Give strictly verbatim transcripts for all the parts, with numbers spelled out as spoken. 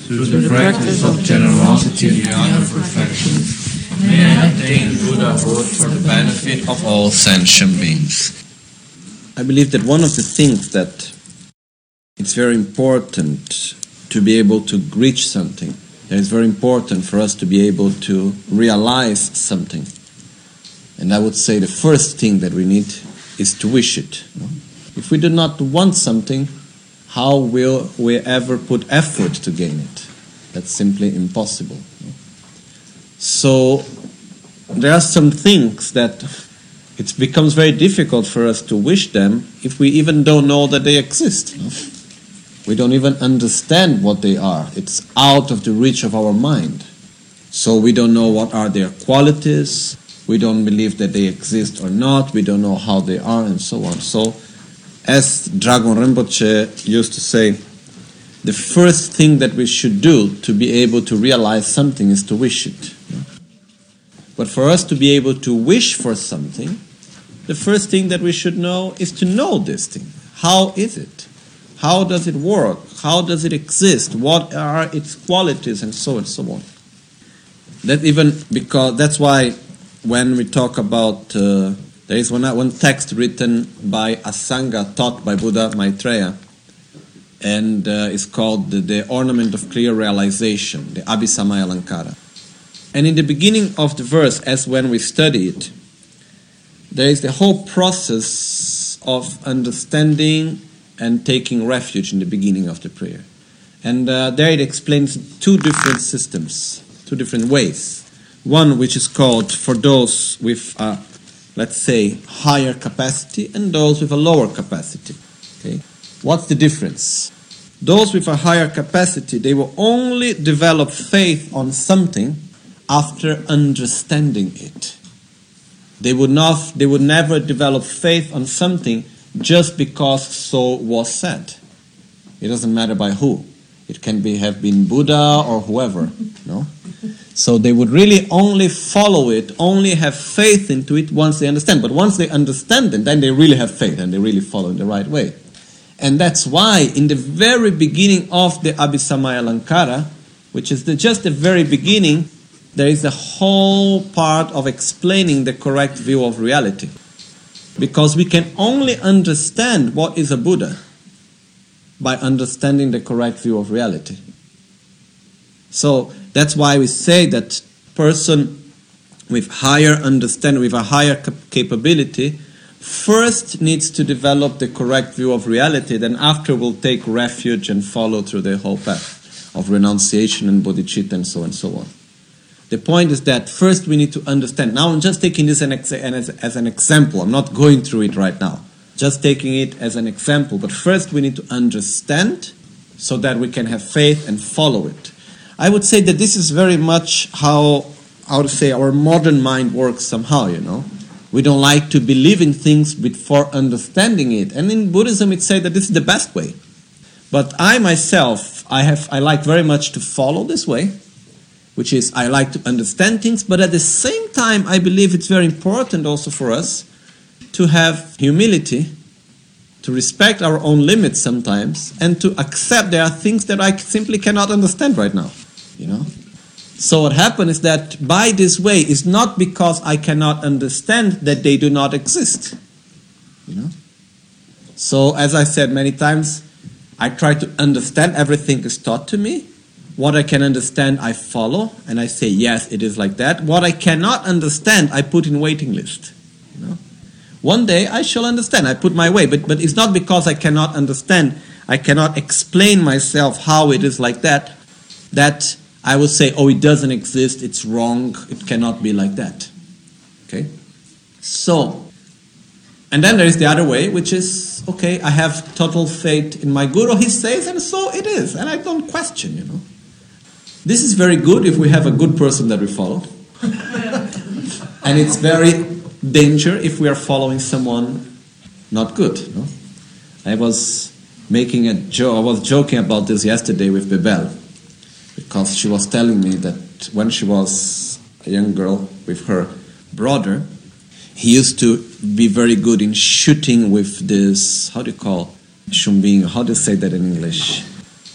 through the practice of generosity and the other perfections, may I attain Buddhahood for the benefit of all sentient beings. I believe that one of the things that it's very important to be able to reach something, that it's very important for us to be able to realize something. And I would say the first thing that we need is to wish it. If we do not want something, how will we ever put effort to gain it? That's simply impossible. So there are some things that it becomes very difficult for us to wish them if we even don't know that they exist. We don't even understand what they are. It's out of the reach of our mind. So we don't know what are their qualities. We don't believe that they exist or not. We don't know how they are and so on. So as Dragon Rinpoche used to say, the first thing that we should do to be able to realize something is to wish it. But for us to be able to wish for something, the first thing that we should know is to know this thing. How is it? How does it work? How does it exist? What are its qualities and so and so on? That even because that's why when we talk about uh, there is one, one text written by a Sangha taught by Buddha Maitreya, and uh, it's called the, the Ornament of Clear Realization, the Abhisamaya Alankara. And in the beginning of the verse, as when we study it, there is the whole process of understanding and taking refuge in the beginning of the prayer. And uh, there it explains two different systems, two different ways. One which is called for those with a, let's say, higher capacity and those with a lower capacity. Okay? What's the difference? Those with a higher capacity, they will only develop faith on something after understanding it. They would not, they would never develop faith on something just because so was said. It doesn't matter by who. It can be have been Buddha or whoever. No? So they would really only follow it, only have faith into it once they understand. But once they understand it, then they really have faith and they really follow in the right way. And that's why in the very beginning of the Abhisamaya Alankara, which is the, just the very beginning, there is a whole part of explaining the correct view of reality. Because we can only understand what is a Buddha by understanding the correct view of reality. So that's why we say that person with higher understanding, with a higher cap- capability, first needs to develop the correct view of reality, then after will take refuge and follow through the whole path of renunciation and bodhicitta and so on and so on. The point is that first we need to understand. Now I'm just taking this an ex- as, as an example. I'm not going through it right now. Just taking it as an example. But first we need to understand so that we can have faith and follow it. I would say that this is very much how, how to say, our modern mind works somehow, you know. We don't like to believe in things before understanding it. And in Buddhism it says that this is the best way. But I myself, I have, I like very much to follow this way, which is I like to understand things, but at the same time I believe it's very important also for us to have humility, to respect our own limits sometimes, and to accept there are things that I simply cannot understand right now. You know? So what happens is that by this way, it's not because I cannot understand that they do not exist. You know? So as I said many times, I try to understand everything is taught to me. What I can understand, I follow, and I say, yes, it is like that. What I cannot understand, I put in waiting list. You know? One day I shall understand. I put my way, but but it's not because I cannot understand, I cannot explain myself how it is like that, that I will say, oh, it doesn't exist, it's wrong, it cannot be like that. Okay? So, and then there is the other way, which is, okay, I have total faith in my Guru, he says, and so it is, and I don't question, you know. This is very good if we have a good person that we follow. And it's very danger if we are following someone not good. No? I was making a joke, I was joking about this yesterday with Bebel, because she was telling me that when she was a young girl with her brother, he used to be very good in shooting with this, how do you call, chumbinho, how do you say that in English?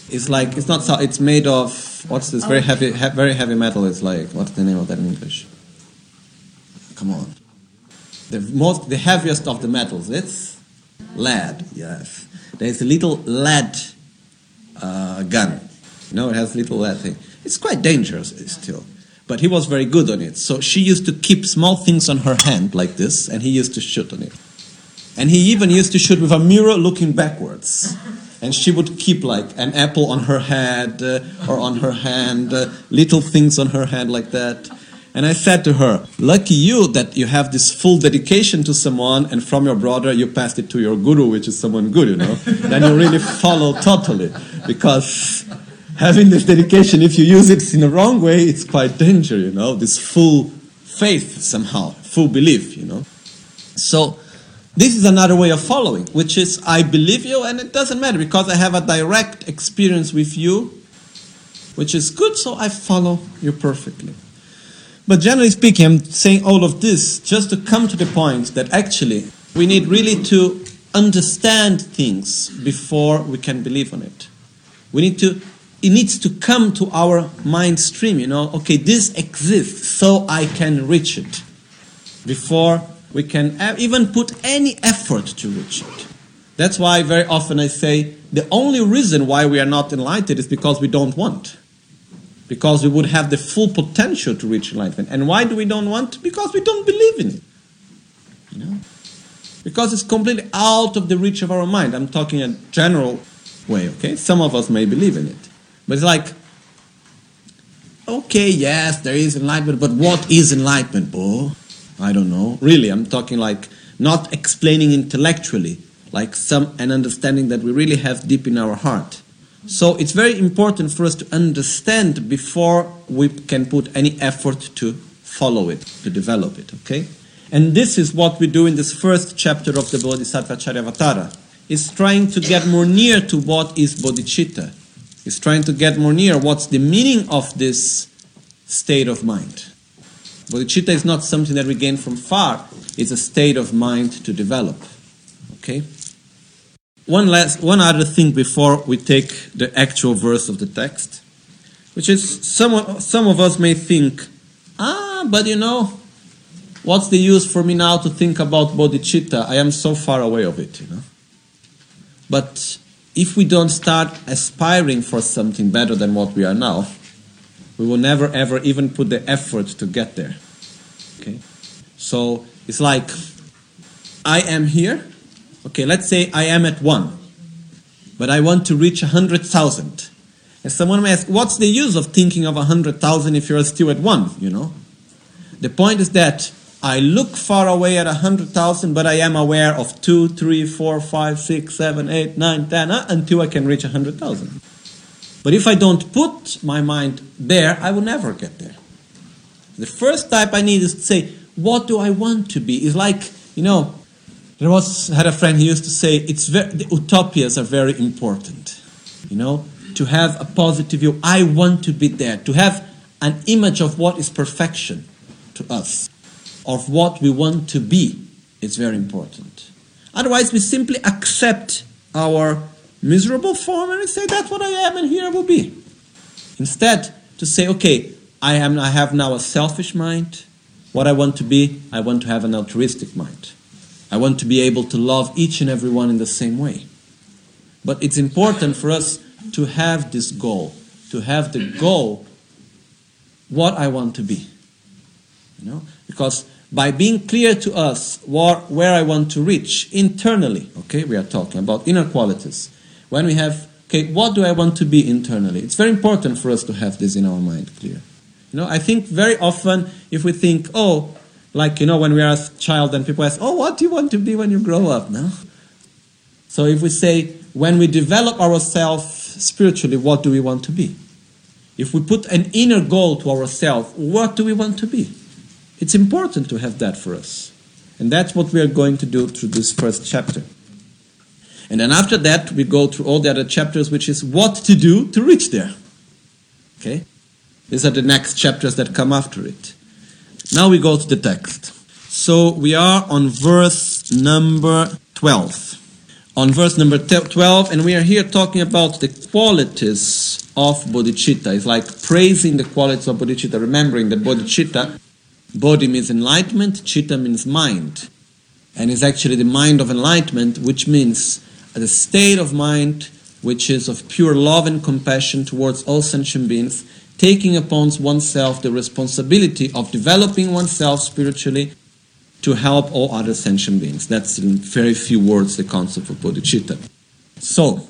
It's like, it's not so, it's made of, what's this very heavy, he, very heavy metal. It's like, what's the name of that in English? Come on. The most, the heaviest of the metals, it's lead, yes. There's a little lead uh, gun. You know, it has a little lead thing. It's quite dangerous still. But he was very good on it. So she used to keep small things on her hand like this, and he used to shoot on it. And he even used to shoot with a mirror looking backwards. And she would keep like an apple on her head uh, or on her hand, uh, little things on her hand like that. And I said to her, lucky you that you have this full dedication to someone, and from your brother you passed it to your guru, which is someone good, you know. Then you really follow totally. Because having this dedication, if you use it in the wrong way, it's quite dangerous, you know. This full faith somehow, full belief, you know. So this is another way of following, which is I believe you and it doesn't matter because I have a direct experience with you, which is good, so I follow you perfectly. But generally speaking, I'm saying all of this just to come to the point that actually we need really to understand things before we can believe on it. We need to, it needs to come to our mind stream, you know, okay, this exists, so I can reach it before we can even put any effort to reach it. That's why very often I say the only reason why we are not enlightened is because we don't want. Because we would have the full potential to reach enlightenment. And why do we don't want? Because we don't believe in it. You know? Because it's completely out of the reach of our mind. I'm talking in a general way, okay? Some of us may believe in it. But it's like, okay, yes, there is enlightenment, but what is enlightenment, Bo? I don't know. Really, I'm talking like not explaining intellectually, like some an understanding that we really have deep in our heart. So it's very important for us to understand before we can put any effort to follow it, to develop it, okay? And this is what we do in this first chapter of the Bodhisattva Charyavatara. It's trying to get more near to what is bodhicitta. It's trying to get more near what's the meaning of this state of mind. Bodhicitta is not something that we gain from far. It's a state of mind to develop, okay? One last, one other thing before we take the actual verse of the text, which is some, some of us may think, ah, but you know, what's the use for me now to think about bodhicitta? I am so far away of it, you know. But if we don't start aspiring for something better than what we are now, we will never ever even put the effort to get there. Okay? So it's like, I am here. Okay, let's say I am at one, but I want to reach a hundred thousand. And someone may ask, what's the use of thinking of a hundred thousand if you're still at one, you know? The point is that I look far away at a hundred thousand, but I am aware of two, three, four, five, six, seven, eight, nine, ten, uh, until I can reach a hundred thousand. But if I don't put my mind there, I will never get there. The first type I need is to say, what do I want to be? It's like, you know, There was had a friend who used to say, "It's very, the utopias are very important, you know, to have a positive view. I want to be there, to have an image of what is perfection to us, of what we want to be. It's very important. Otherwise, we simply accept our miserable form and we say, that's what I am, and here I will be. Instead, to say, okay, I am. I have now a selfish mind. What I want to be, I want to have an altruistic mind. I want to be able to love each and every one in the same way. But it's important for us to have this goal, to have the goal, what I want to be. You know, because by being clear to us what, where I want to reach internally, okay, we are talking about inner qualities. When we have, okay, what do I want to be internally? It's very important for us to have this in our mind clear. You know, I think very often if we think, oh, like, you know, when we are a child and people ask, oh, what do you want to be when you grow up? No? So if we say, when we develop ourselves spiritually, what do we want to be? If we put an inner goal to ourselves, what do we want to be? It's important to have that for us. And that's what we are going to do through this first chapter. And then after that, we go through all the other chapters, which is what to do to reach there. Okay? These are the next chapters that come after it. Now we go to the text. So we are on verse number twelve. on verse number twelve, and we are here talking about the qualities of bodhicitta. It's like praising the qualities of bodhicitta, remembering that bodhicitta, bodhi means enlightenment, citta means mind. And it's actually the mind of enlightenment, which means the state of mind which is of pure love and compassion towards all sentient beings, taking upon oneself the responsibility of developing oneself spiritually to help all other sentient beings. That's in very few words the concept of bodhicitta. So,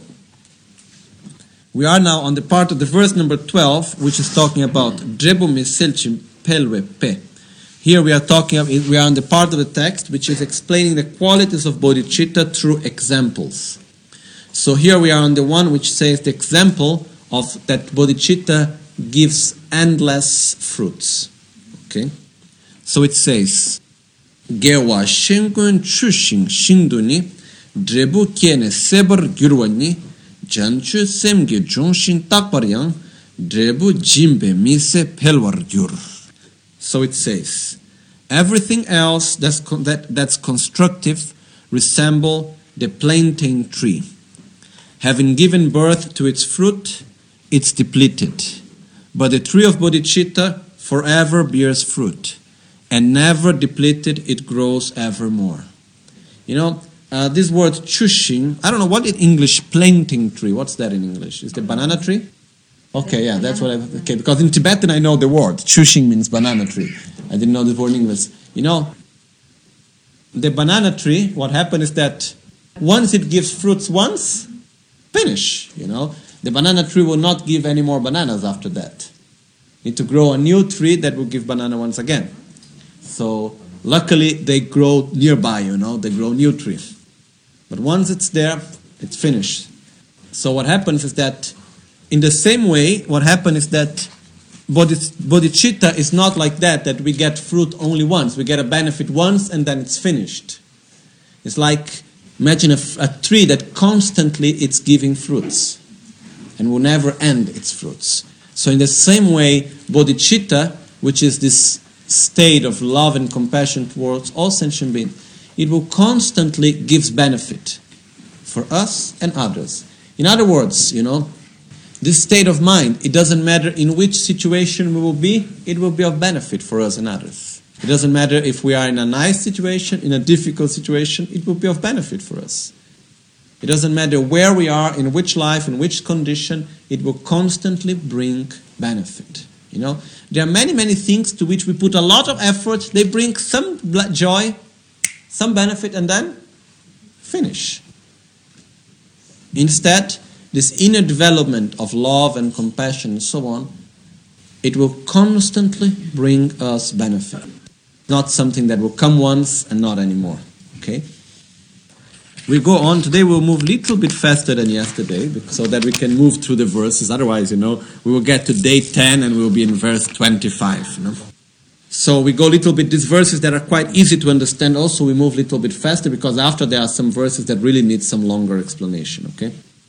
we are now on the part of the verse number twelve, which is talking about Drebu miselchim pelwe pe. Here we are talking, we are on the part of the text which is explaining the qualities of bodhicitta through examples. So here we are on the one which says the example of that bodhicitta gives endless fruits. Okay? So it says, Gewa shengun chushin shinduni, drebu kiene sebar gyurwani, janchu semge jonshin takparyang, drebu jimbe mise pelwar gyur. So it says, everything else that's, con- that, that's constructive resemble the plantain tree. Having given birth to its fruit, it's depleted. But the tree of bodhicitta forever bears fruit, and never depleted, it grows evermore. You know, uh, this word chushin, I don't know, what in English, plantain tree, what's that in English? Is it banana tree? Okay, yeah, that's what I, okay, because in Tibetan I know the word, chushin means banana tree. I didn't know the word in English. You know, the banana tree, what happened is that once it gives fruits once, finish, you know. The banana tree will not give any more bananas after that. Need to grow a new tree that will give banana once again. So, luckily they grow nearby, you know, they grow new trees. But once it's there, it's finished. So what happens is that, in the same way, what happens is that bodhicitta is not like that, that we get fruit only once. We get a benefit once and then it's finished. It's like, imagine a, a tree that constantly it's giving fruits and will never end its fruits. So in the same way, bodhicitta, which is this state of love and compassion towards all sentient beings, it will constantly give benefit for us and others. In other words, you know, this state of mind, it doesn't matter in which situation we will be, it will be of benefit for us and others. It doesn't matter if we are in a nice situation, in a difficult situation, it will be of benefit for us. It doesn't matter where we are, in which life, in which condition, it will constantly bring benefit. You know, there are many, many things to which we put a lot of effort, they bring some joy, some benefit, and then finish. Instead, this inner development of love and compassion and so on, it will constantly bring us benefit. Not something that will come once and not anymore. Okay? We go on. Today we'll move a little bit faster than yesterday so that we can move through the verses. Otherwise, you know, we will get to day ten and we'll be in verse twenty-five. You know? So we go a little bit, these verses that are quite easy to understand also, we move a little bit faster because after there are some verses that really need some longer explanation. Okay?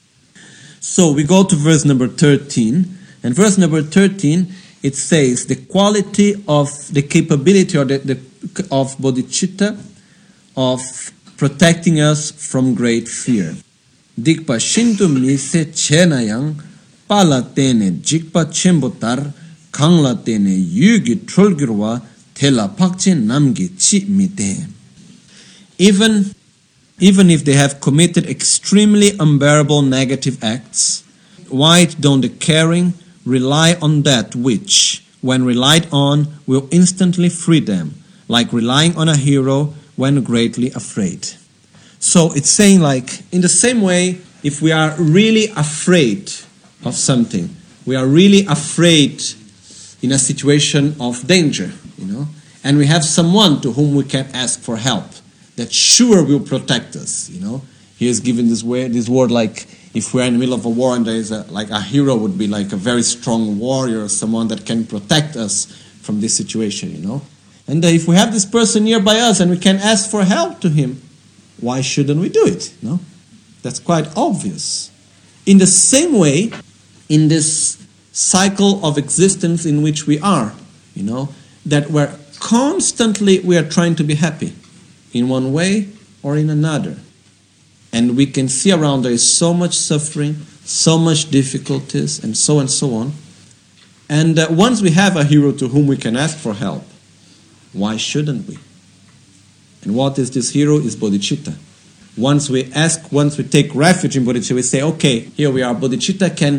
So we go to verse number thirteen. And verse number thirteen, it says the quality of the capability or the, the of bodhicitta of protecting us from great fear. Dikpa shintu mise chenayang pala tene jikpa chembotar kangla tene yugi trolgirwa tela pakche namgi chi mite. Even even if they have committed extremely unbearable negative acts, why don't the caring rely on that which, when relied on, will instantly free them, like relying on a hero when greatly afraid. So it's saying like, in the same way, if we are really afraid of something, we are really afraid in a situation of danger, you know, and we have someone to whom we can ask for help, that sure will protect us, you know. He is given this way, this word like, if we're in the middle of a war and there is a, like a hero would be like a very strong warrior, someone that can protect us from this situation, you know. And uh, if we have this person nearby us and we can ask for help to him, why shouldn't we do it? No? That's quite obvious. In the same way, in this cycle of existence in which we are, you know, that we're constantly, we are trying to be happy in one way or in another. and we can see around there is so much suffering, so much difficulties, and so and so on. And uh, once we have a hero to whom we can ask for help, why shouldn't we? And what is this hero? Is bodhicitta. Once we ask, once we take refuge in bodhicitta, we say, okay, here we are. Bodhicitta can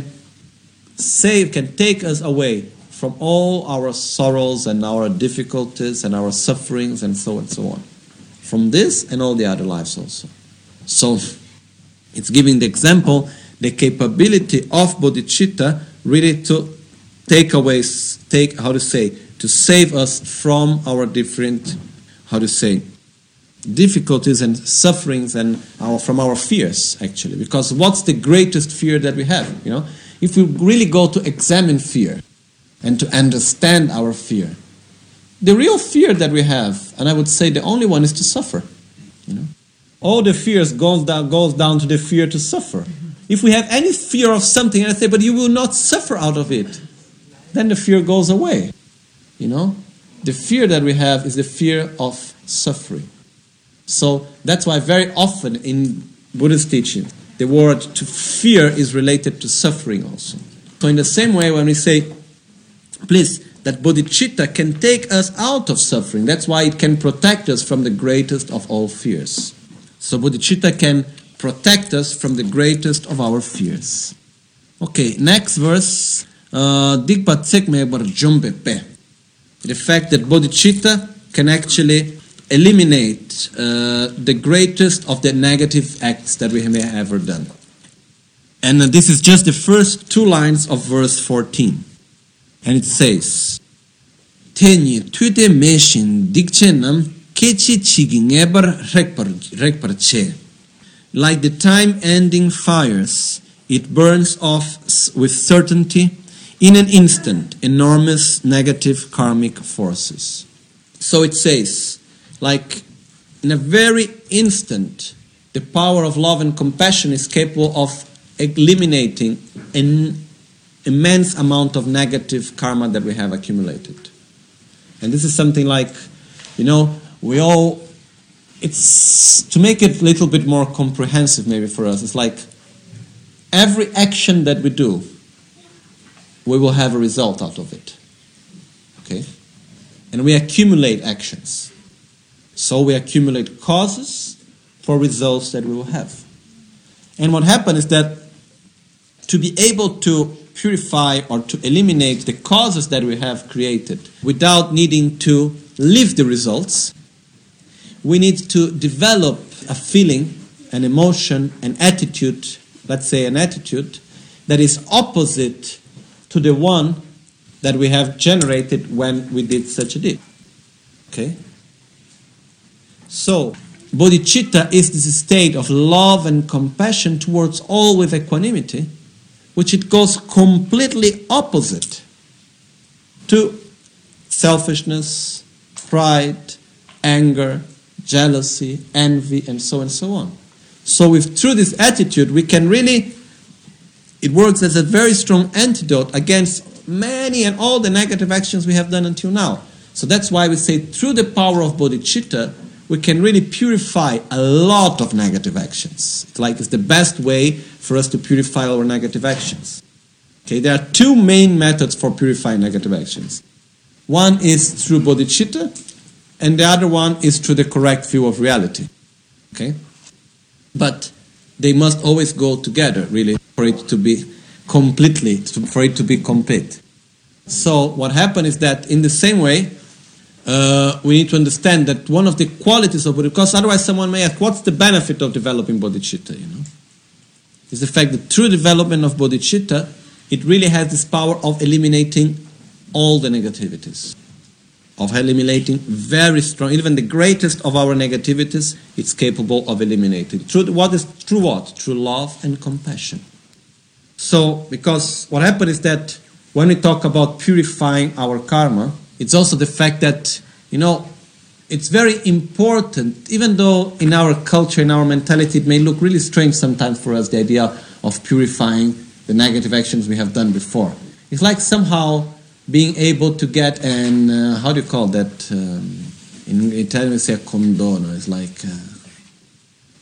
save, can take us away from all our sorrows and our difficulties and our sufferings and so and so on. From this and all the other lives also. So, it's giving the example, the capability of bodhicitta really to take away, take, how to say, to save us from our different, how to say, difficulties and sufferings and our, from our fears, actually. Because what's the greatest fear that we have, you know? If we really go to examine fear and to understand our fear, the real fear that we have, and I would say the only one, is to suffer, you know? All the fears goes down, goes down to the fear to suffer. If we have any fear of something, and I say, but you will not suffer out of it, then the fear goes away, you know? The fear that we have is the fear of suffering. So that's why very often in Buddhist teaching, the word to fear is related to suffering also. So in the same way, when we say, please, that bodhicitta can take us out of suffering, that's why it can protect us from the greatest of all fears. So bodhicitta can protect us from the greatest of our fears. Okay, next verse. Digpa tsekme bar jumbepe. The fact that bodhicitta can actually eliminate uh, the greatest of the negative acts that we may have ever done. And uh, this is just the first two lines of verse fourteen. And it says, Tenyi tude meshin dikchenam kechi chigi ngebar rekpar che. Like the time-ending fires, it burns off with certainty in an instant enormous negative karmic forces. So it says, like in a very instant, the power of love and compassion is capable of eliminating an immense amount of negative karma that we have accumulated. And this is something like, you know, we all, it's, to make it a little bit more comprehensive maybe for us, it's like every action that we do, we will have a result out of it. Okay? And we accumulate actions. So we accumulate causes for results that we will have. And what happens is that to be able to purify or to eliminate the causes that we have created without needing to live the results, we need to develop a feeling, an emotion, an attitude, let's say an attitude, that is opposite to the one that we have generated when we did such a deed. Okay? So, bodhicitta is this state of love and compassion towards all with equanimity, which it goes completely opposite to selfishness, pride, anger, jealousy, envy, and so and so on. So with through this attitude, we can really, it works as a very strong antidote against many and all the negative actions we have done until now. So that's why we say through the power of bodhicitta, we can really purify a lot of negative actions. It's like it's the best way for us to purify our negative actions. Okay, there are two main methods for purifying negative actions. One is through bodhicitta, and the other one is through the correct view of reality. Okay? But they must always go together, really, for it to be completely, for it to be complete. So what happened is that in the same way, uh, we need to understand that one of the qualities of bodhicitta, because otherwise someone may ask, what's the benefit of developing bodhicitta, you know? Is the fact that through development of bodhicitta, it really has this power of eliminating all the negativities. Of eliminating very strong, even the greatest of our negativities, it's capable of eliminating. Through what is through what? Through love and compassion. So, because what happened is that when we talk about purifying our karma, it's also the fact that, you know, it's very important, even though in our culture, in our mentality, it may look really strange sometimes for us, the idea of purifying the negative actions we have done before. It's like somehow being able to get an, uh, how do you call that? Um, in Italian we say a condono. It's like, uh,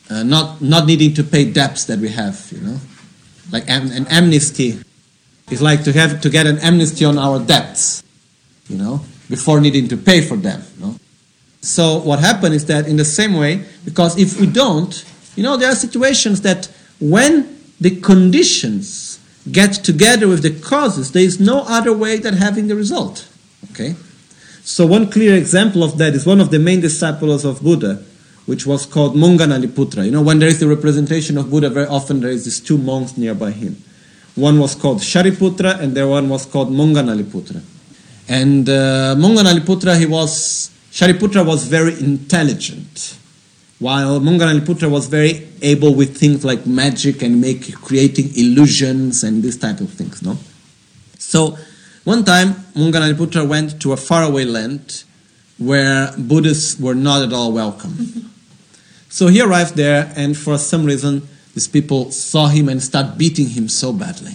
uh, not not needing to pay debts that we have, you know, like am, an amnesty. It's like to have to get an amnesty on our debts, you know, before needing to pay for them. You know? So what happened is that in the same way, because if we don't, you know, there are situations that when the conditions get together with the causes, there is no other way than having the result. Okay? So one clear example of that is one of the main disciples of Buddha, which was called Monganaliputra. You know, when there is the representation of Buddha, very often there is these two monks nearby him. One was called Shariputra and the one was called Monganaliputra. And uh, Monganaliputra, he was, Shariputra was very intelligent, while Monganaliputra was very able with things like magic and make creating illusions and this type of things, no? So one time Monganaliputra went to a faraway land where Buddhists were not at all welcome. So he arrived there, and for some reason these people saw him and started beating him so badly.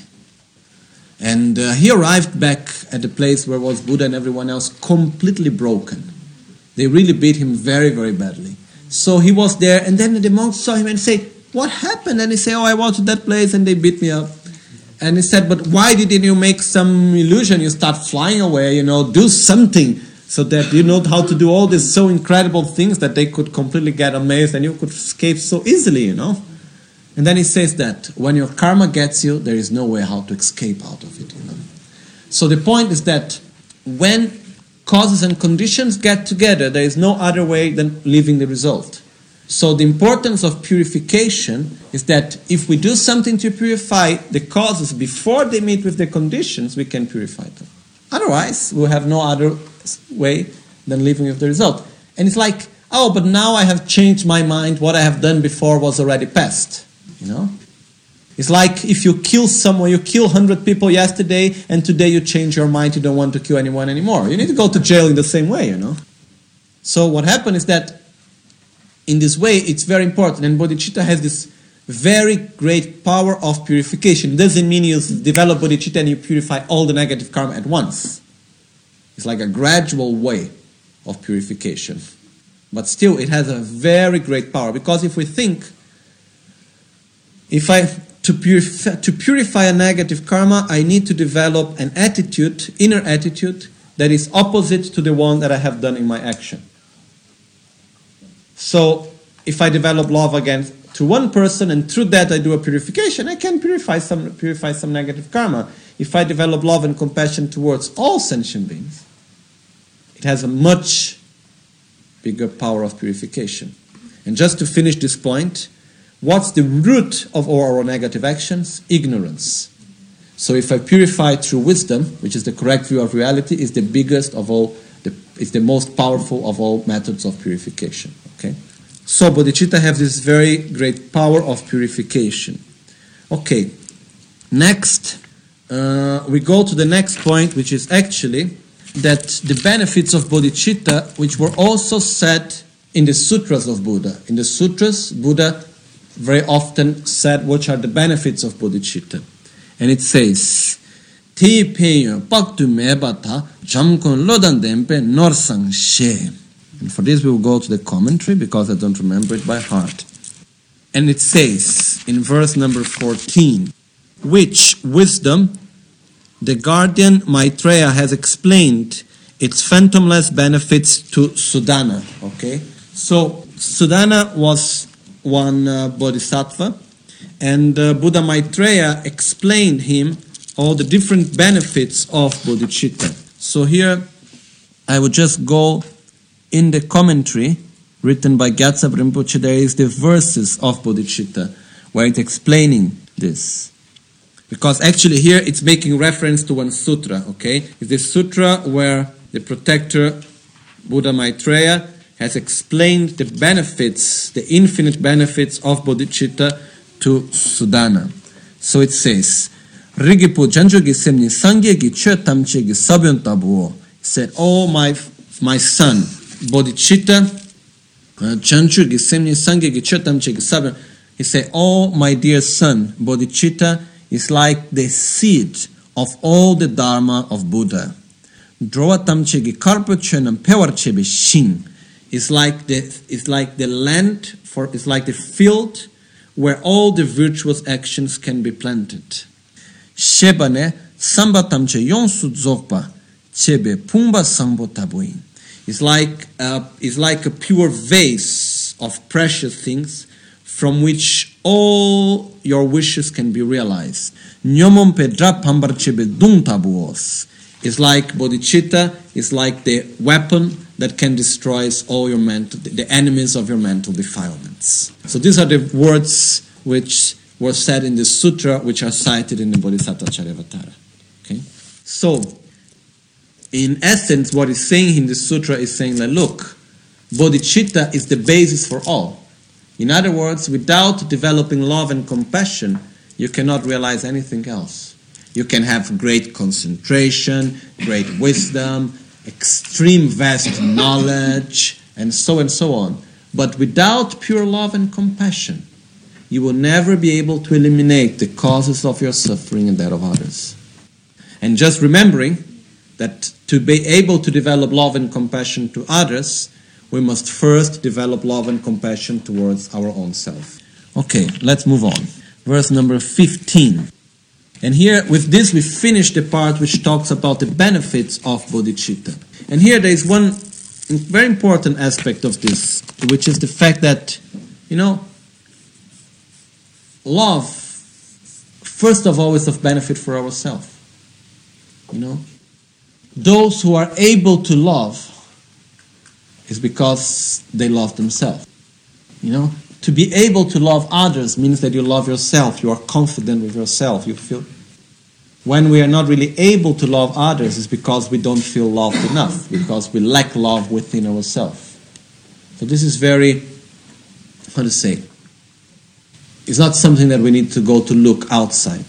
And uh, he arrived back at the place where was Buddha and everyone else completely broken. They really beat him very, very badly. So he was there, and then the monks saw him and say, "What happened?" And he said, "Oh, I was to that place and they beat me up." And he said, "But why didn't you make some illusion? You start flying away, you know, do something so that you know how to do all these so incredible things that they could completely get amazed and you could escape so easily, you know." And then he says that when your karma gets you, there is no way how to escape out of it, you know. So the point is that when causes and conditions get together, there is no other way than leaving the result. So the importance of purification is that if we do something to purify the causes before they meet with the conditions, we can purify them. Otherwise, we'll have no other way than living with the result. And it's like, oh, but now I have changed my mind. What I have done before was already past. You know? It's like if you kill someone, you kill one hundred people yesterday, and today you change your mind, you don't want to kill anyone anymore. You need to go to jail in the same way, you know? So what happened is that in this way, it's very important. And bodhicitta has this very great power of purification. It doesn't mean you develop bodhicitta and you purify all the negative karma at once. It's like a gradual way of purification. But still, it has a very great power. Because if we think, if I, to purify, to purify a negative karma, I need to develop an attitude, inner attitude, that is opposite to the one that I have done in my action. So, if I develop love against to one person and through that I do a purification, I can purify some purify some negative karma. If I develop love and compassion towards all sentient beings, it has a much bigger power of purification. And just to finish this point, what's the root of all our negative actions? Ignorance. So if I purify through wisdom, which is the correct view of reality, is the biggest of all, the, is the most powerful of all methods of purification. Okay? So bodhicitta have this very great power of purification. Okay, next, uh, we go to the next point, which is actually that the benefits of bodhicitta, which were also said in the sutras of Buddha. In the sutras, Buddha very often said which are the benefits of bodhicitta. And it says, Ti peyo paktu mebata jamkon lodan dempe norsang she. And for this we will go to the commentary because I don't remember it by heart. And it says in verse number fourteen, which wisdom the guardian Maitreya has explained its phantomless benefits to Sudana. Okay, so Sudana was one uh, bodhisattva, and uh, Buddha Maitreya explained him all the different benefits of bodhicitta. So here I would just go in the commentary written by Gyatso Rinpoche. There is the verses of bodhicitta where it's explaining this. Because actually here it's making reference to one sutra, okay? It's the sutra where the protector, Buddha Maitreya, has explained the benefits, the infinite benefits of bodhicitta to Sudana. So it says, Rigipu Janjogi Semni Sangyegi Chö Tamche Gi Sabyon Tabuo. He said, oh my, my son, bodhicitta, Janjogi Semni Sangyegi Chö Tamche Gi Sabyon. He said, oh my dear son, bodhicitta is like the seed of all the dharma of Buddha. Drowa Tamche Gi Karpa Chönam Pewar Chebe Shin. It's like the it's like the land for it's like the field where all the virtuous actions can be planted. Shebane samba tamche yonsu dzogpa chebe pumba sangbo tabuin. It's like a, it's like a pure vase of precious things from which all your wishes can be realized. Nyomon pedra pambar chebe dung tabuos. It's like bodhicitta, it's like the weapon that can destroy all your mental, the enemies of your mental defilements. So these are the words which were said in the sutra, which are cited in the Bodhisattva Charyavatara. Okay? So, in essence, what he's saying in the sutra is saying that, look, bodhicitta is the basis for all. In other words, without developing love and compassion, you cannot realize anything else. You can have great concentration, great wisdom, extreme vast knowledge, and so and so on. But without pure love and compassion, you will never be able to eliminate the causes of your suffering and that of others. And just remembering that to be able to develop love and compassion to others, we must first develop love and compassion towards our own self. Okay, let's move on. Verse number fifteen. And here, with this, we finish the part which talks about the benefits of bodhicitta. And here there is one very important aspect of this, which is the fact that, you know, love, first of all, is of benefit for ourselves. You know, those who are able to love is because they love themselves. You know, to be able to love others means that you love yourself, you are confident with yourself, you feel. When we are not really able to love others, it's because we don't feel loved enough, because we lack love within ourselves. So this is very, how to say, it's not something that we need to go to look outside.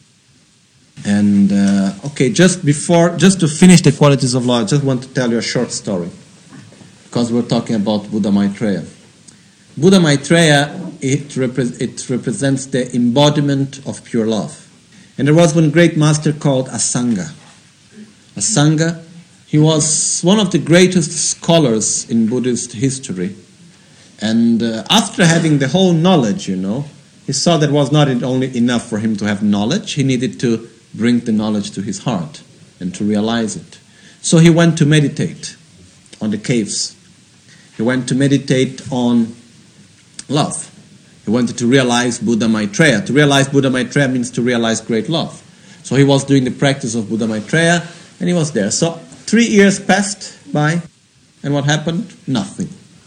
And, uh, okay, just before, just to finish the qualities of love, I just want to tell you a short story, because we're talking about Buddha Maitreya. Buddha Maitreya, it, repre- it represents the embodiment of pure love. And there was one great master called Asanga. Asanga, he was one of the greatest scholars in Buddhist history. And uh, after having the whole knowledge, you know, he saw that it was not only enough for him to have knowledge, he needed to bring the knowledge to his heart and to realize it. So he went to meditate on the caves. He went to meditate on love. He wanted to realize Buddha Maitreya. To realize Buddha Maitreya means to realize great love. So he was doing the practice of Buddha Maitreya, and he was there. So three years passed by, and what happened? Nothing.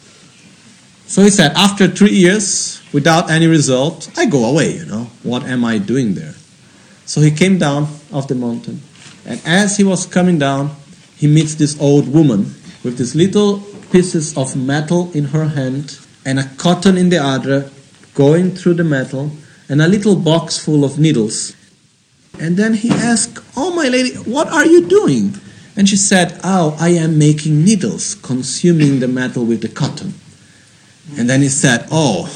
So he said, after three years, without any result, I go away, you know. What am I doing there? So he came down off the mountain, and as he was coming down, he meets this old woman with these little pieces of metal in her hand and a cotton in the other, going through the metal, and a little box full of needles. And then he asked, "Oh, my lady, what are you doing?" And she said, "Oh, I am making needles, consuming the metal with the cotton." And then he said, "Oh,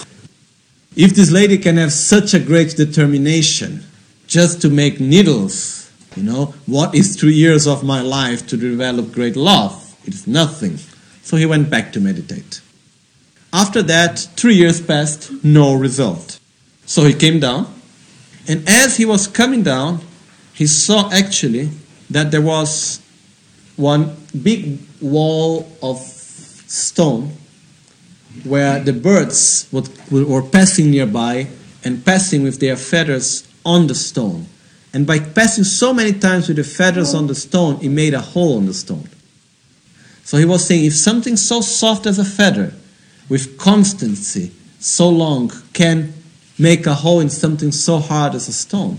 if this lady can have such a great determination just to make needles, you know, what is three years of my life to develop great love? It's nothing." So he went back to meditate. After that, three years passed, no result. So he came down, and as he was coming down, he saw actually that there was one big wall of stone where the birds would, were passing nearby and passing with their feathers on the stone. And by passing so many times with the feathers on the stone, it made a hole in the stone. So he was saying, if something so soft as a feather, with constancy, so long, can make a hole in something so hard as a stone,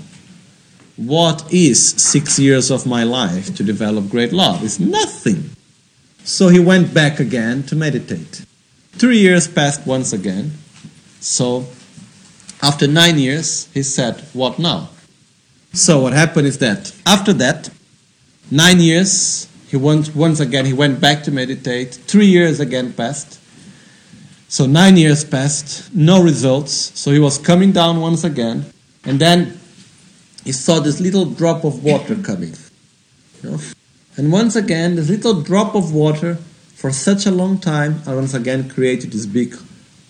what is six years of my life to develop great love? It's nothing. So he went back again to meditate. Three years passed once again. So after nine years, he said, what now? So what happened is that after that, nine years, he went once again, he went back to meditate. Three years again passed. So nine years passed, no results. So he was coming down once again, and then he saw this little drop of water coming. You know? And once again, this little drop of water, for such a long time, I once again created this big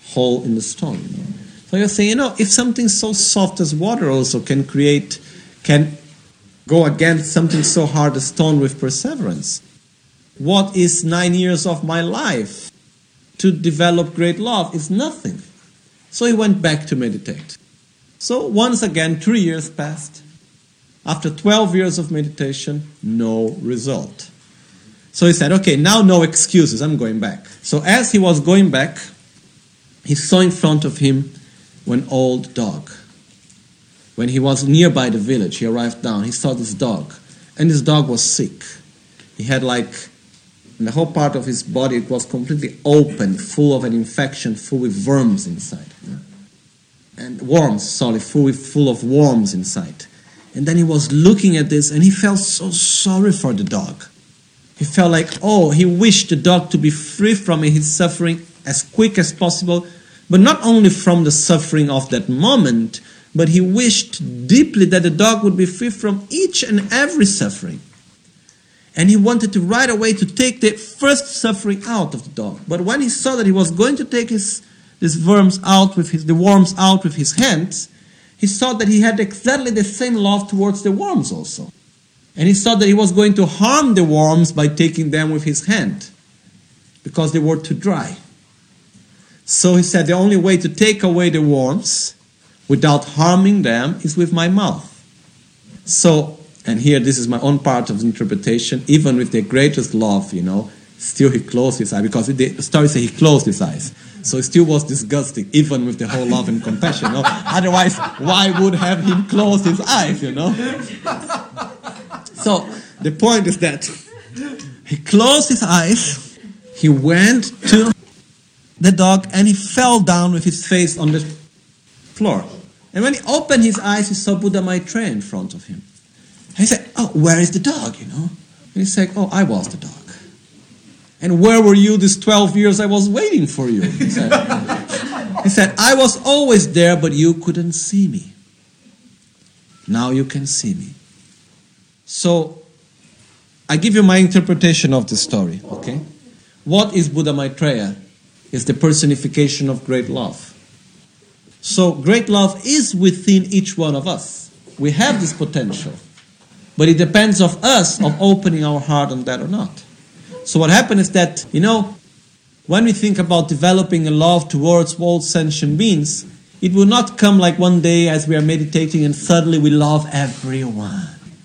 hole in the stone. You know? So you're saying, you know, if something so soft as water also can create, can go against something so hard as stone with perseverance, what is nine years of my life to develop great love? Is nothing. So he went back to meditate. So once again, three years passed. After twelve years of meditation, no result. So he said, okay, now no excuses, I'm going back. So as he was going back, he saw in front of him an old dog. When he was nearby the village, he arrived down, he saw this dog. And this dog was sick. He had like, in the whole part of his body, it was completely open, full of an infection, full with worms inside. And worms, sorry, full, with, full of worms inside. And then he was looking at this and he felt so sorry for the dog. He felt like, oh, he wished the dog to be free from his suffering as quick as possible, but not only from the suffering of that moment, but he wished deeply that the dog would be free from each and every suffering. And he wanted to right away to take the first suffering out of the dog. But when he saw that he was going to take his these worms out with his the worms out with his hands, he saw that he had exactly the same love towards the worms also. And he saw that he was going to harm the worms by taking them with his hand, because they were too dry. So he said, the only way to take away the worms without harming them is with my mouth. So, and here this is my own part of the interpretation, even with the greatest love, you know, still he closed his eyes, because the story says he closed his eyes. So it still was disgusting, even with the whole love and compassion, you know. Otherwise, why would have him close his eyes, you know? So the point is that he closed his eyes, he went to the dog, and he fell down with his face on the floor. And when he opened his eyes, he saw Buddha Maitreya in front of him. And he said, oh, where is the dog, you know? And he said, oh, I was the dog. And where were you these twelve years I was waiting for you? He said, he said, I was always there, but you couldn't see me. Now you can see me. So, I give you my interpretation of the story, okay? What is Buddha Maitreya? It's the personification of great love. So, great love is within each one of us. We have this potential. But it depends on us of opening our heart on that or not. So what happened is that, you know, when we think about developing a love towards all sentient beings, it will not come like one day as we are meditating and suddenly we love everyone.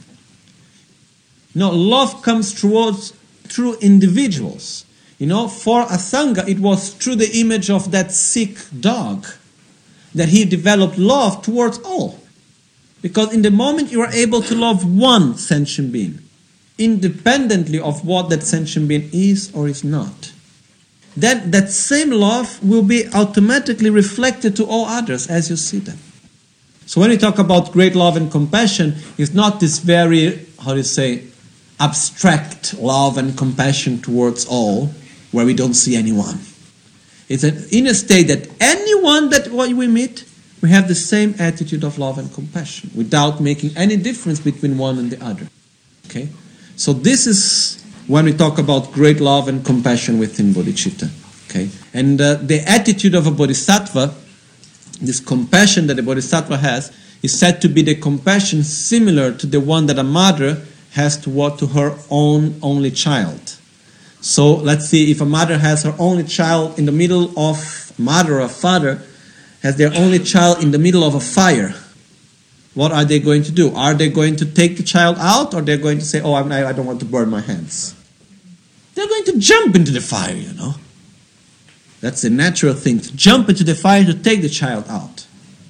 No, love comes towards through individuals. You know, for a Sangha, it was through the image of that sick dog that he developed love towards all. Because in the moment you are able to love one sentient being, independently of what that sentient being is or is not, then that same love will be automatically reflected to all others as you see them. So when we talk about great love and compassion, it's not this very, how do you say, abstract love and compassion towards all, where we don't see anyone. It's an inner state that anyone that we meet, we have the same attitude of love and compassion, without making any difference between one and the other. Okay? So this is when we talk about great love and compassion within bodhicitta. Okay? And uh, the attitude of a bodhisattva, this compassion that the bodhisattva has, is said to be the compassion similar to the one that a mother has toward to her own only child. So let's see, if a mother has her only child in the middle of, mother or father, has their only child in the middle of a fire, what are they going to do? Are they going to take the child out, or they're going to say, oh, I'm, I don't want to burn my hands? They're going to jump into the fire, you know. That's the natural thing, to jump into the fire to take the child out.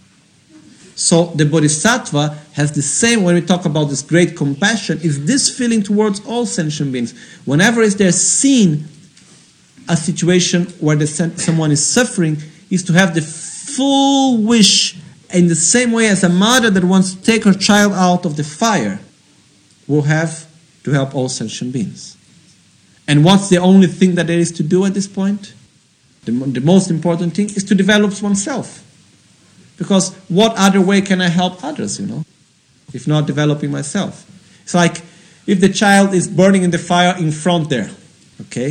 So the bodhisattva has the same, when we talk about this great compassion, is this feeling towards all sentient beings. Whenever is there seen a situation where the, someone is suffering, is to have the full wish, in the same way as a mother that wants to take her child out of the fire will have to help all sentient beings. And what's the only thing that there is to do at this point? The, the most important thing is to develop oneself. Because what other way can I help others, you know, if not developing myself? It's like if the child is burning in the fire in front there, okay,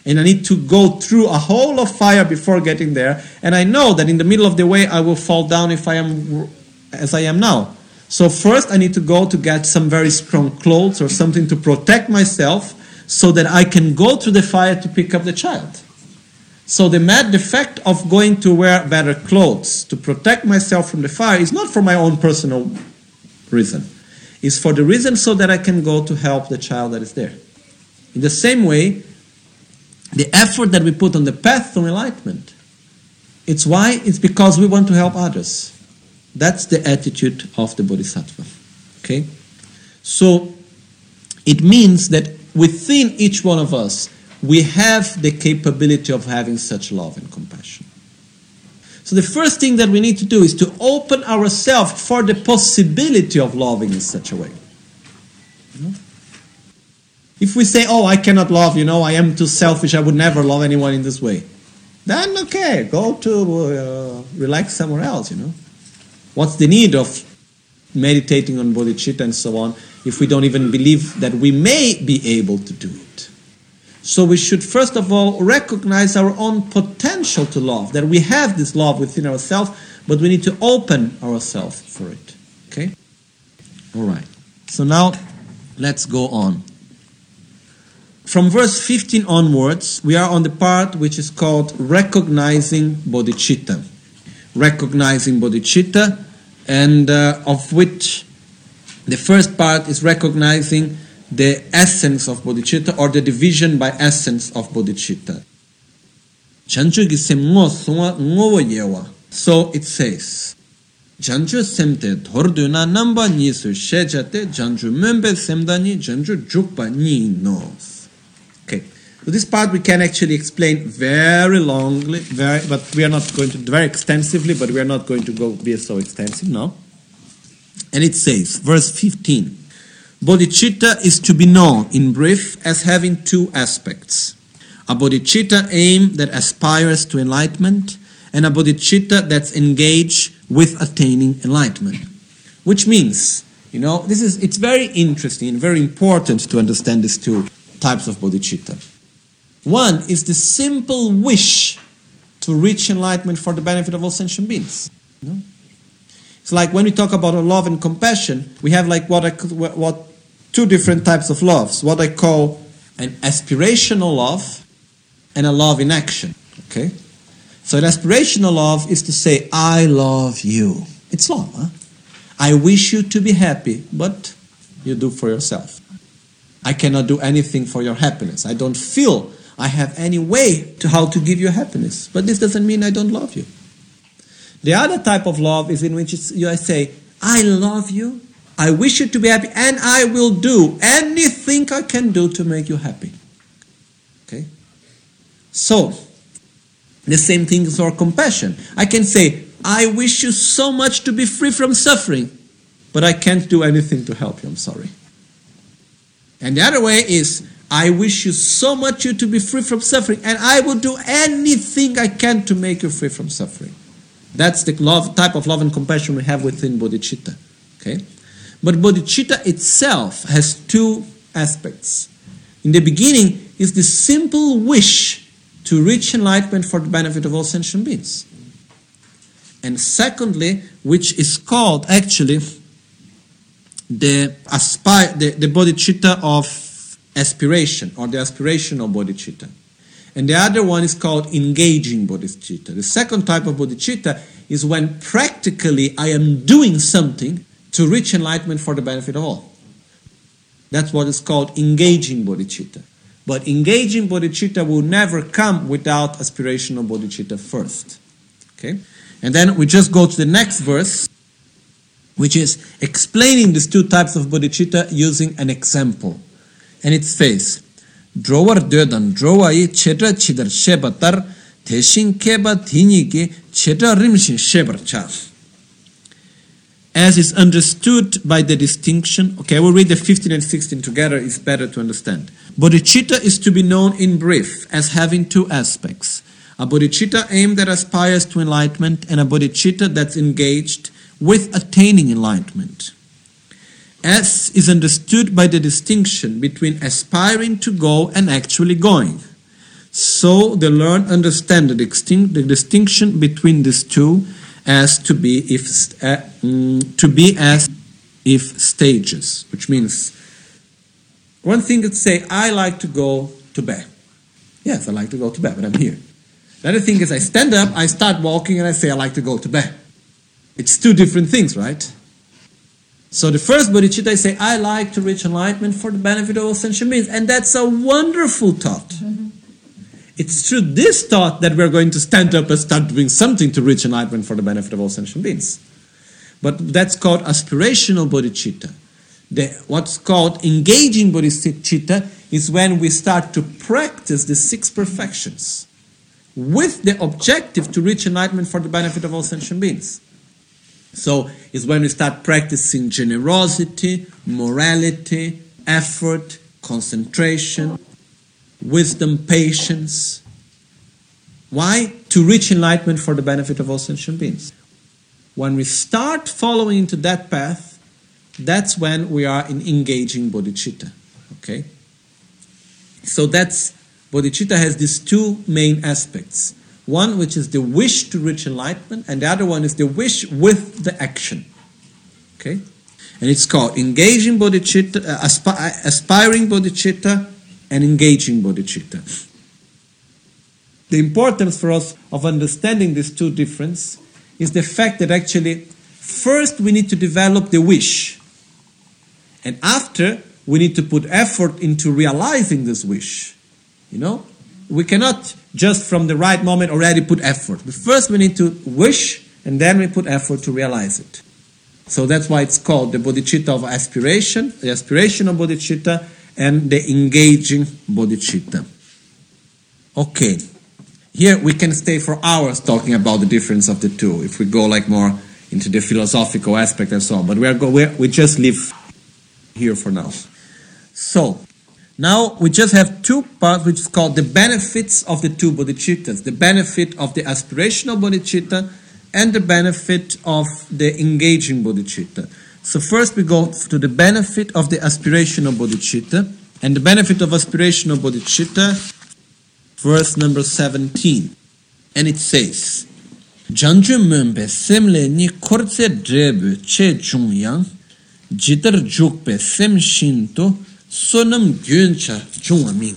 and I need to go through a hole of fire before getting there, and I know that in the middle of the way I will fall down if I am as I am now. So first I need to go to get some very strong clothes or something to protect myself so that I can go through the fire to pick up the child. So the mad effect of going to wear better clothes to protect myself from the fire is not for my own personal reason. It's for the reason so that I can go to help the child that is there. In the same way, the effort that we put on the path to enlightenment, it's why? It's because we want to help others. That's the attitude of the Bodhisattva. Okay? So, it means that within each one of us, we have the capability of having such love and compassion. So the first thing that we need to do is to open ourselves for the possibility of loving in such a way. You know? If we say, oh, I cannot love, you know, I am too selfish, I would never love anyone in this way, then okay, go to uh, relax somewhere else, you know. What's the need of meditating on bodhicitta and so on if we don't even believe that we may be able to do it? So we should first of all recognize our own potential to love, that we have this love within ourselves, but we need to open ourselves for it. Okay? All right. So now let's go on. From verse fifteen onwards, we are on the part which is called recognizing bodhicitta. Recognizing bodhicitta, and uh, of which the first part is recognizing the essence of bodhicitta, or the division by essence of bodhicitta. So it says, Janju semte thorduna namba nisu shejate janju membe semdani janju jukpa ni nos. Okay. So this part we can actually explain very longly, very, but we are not going to, very extensively, but we are not going to go be so extensive now. And it says, verse fifteen, bodhicitta is to be known, in brief, as having two aspects. A bodhicitta aim that aspires to enlightenment, and a bodhicitta that's engaged with attaining enlightenment. Which means, you know, this is, it's very interesting and very important to understand these two types of bodhicitta. One is the simple wish to reach enlightenment for the benefit of all sentient beings. You know? It's like when we talk about love and compassion, we have like what I what two different types of loves. What I call an aspirational love and a love in action. Okay? So an aspirational love is to say, I love you. It's love, huh? I wish you to be happy, but you do for yourself. I cannot do anything for your happiness. I don't feel I have any way to how to give you happiness. But this doesn't mean I don't love you. The other type of love is in which it's, you I say, I love you, I wish you to be happy, and I will do anything I can do to make you happy. Okay? So, the same thing is for compassion. I can say, I wish you so much to be free from suffering, but I can't do anything to help you, I'm sorry. And the other way is, I wish you so much you to be free from suffering, and I will do anything I can to make you free from suffering. That's the love, type of love and compassion we have within bodhicitta. Okay? But bodhicitta itself has two aspects. In the beginning is the simple wish to reach enlightenment for the benefit of all sentient beings. And secondly, which is called actually the aspire, the, the bodhicitta of aspiration, or the aspirational bodhicitta. And the other one is called engaging bodhicitta. The second type of bodhicitta is when practically I am doing something to reach enlightenment for the benefit of all. That's what is called engaging bodhicitta. But engaging bodhicitta will never come without aspirational bodhicitta first. Okay? And then we just go to the next verse, which is explaining these two types of bodhicitta using an example. And it says, Drowar dödan drowai chedra chidar shebatar teshin keba thiniki chedra rimshin shebarcha. As is understood by the distinction, okay, I will read the fifteen and sixteen together, it's better to understand. Bodhicitta is to be known in brief as having two aspects. A bodhicitta aim that aspires to enlightenment, and a bodhicitta that's engaged with attaining enlightenment. As is understood by the distinction between aspiring to go and actually going. So they learn, understand the, distinct, the distinction between these two as to be if uh, mm, to be as if stages, which means one thing is say, I like to go to bed. Yes, I like to go to bed, but I'm here. The other thing is I stand up, I start walking, and I say I like to go to bed. It's two different things, right? So the first bodhicitta, I say, I like to reach enlightenment for the benefit of all sentient beings. And that's a wonderful thought. Mm-hmm. It's through this thought that we're going to stand up and start doing something to reach enlightenment for the benefit of all sentient beings. But that's called aspirational bodhicitta. The, what's called engaging bodhicitta is when we start to practice the six perfections with the objective to reach enlightenment for the benefit of all sentient beings. So it's when we start practicing generosity, morality, effort, concentration, wisdom, patience. Why? To reach enlightenment for the benefit of all sentient beings. When we start following into that path, that's when we are in engaging bodhicitta. Okay? So that's, bodhicitta has these two main aspects. One which is the wish to reach enlightenment, and the other one is the wish with the action. Okay? And it's called engaging bodhicitta, uh, aspi- aspiring bodhicitta, and engaging bodhicitta. The importance for us of understanding these two differences is the fact that actually first we need to develop the wish, and after we need to put effort into realizing this wish. You know? We cannot just from the right moment already put effort. But first we need to wish, and then we put effort to realize it. So that's why it's called the bodhicitta of aspiration, the aspirational bodhicitta, and the engaging bodhicitta. Okay, here we can stay for hours talking about the difference of the two, if we go like more into the philosophical aspect and so on. But we are go we we just leave here for now. So now we just have two parts, which is called the benefits of the two bodhicittas, the benefit of the aspirational bodhicitta and the benefit of the engaging bodhicitta. So first we go to the benefit of the aspirational bodhicitta, and the benefit of aspirational bodhicitta, verse number seventeen. And it says, Janju mumbe semle ni korze drebu che jungyang, jitar jukpe sem shinto, sonam gyuncha jungaming.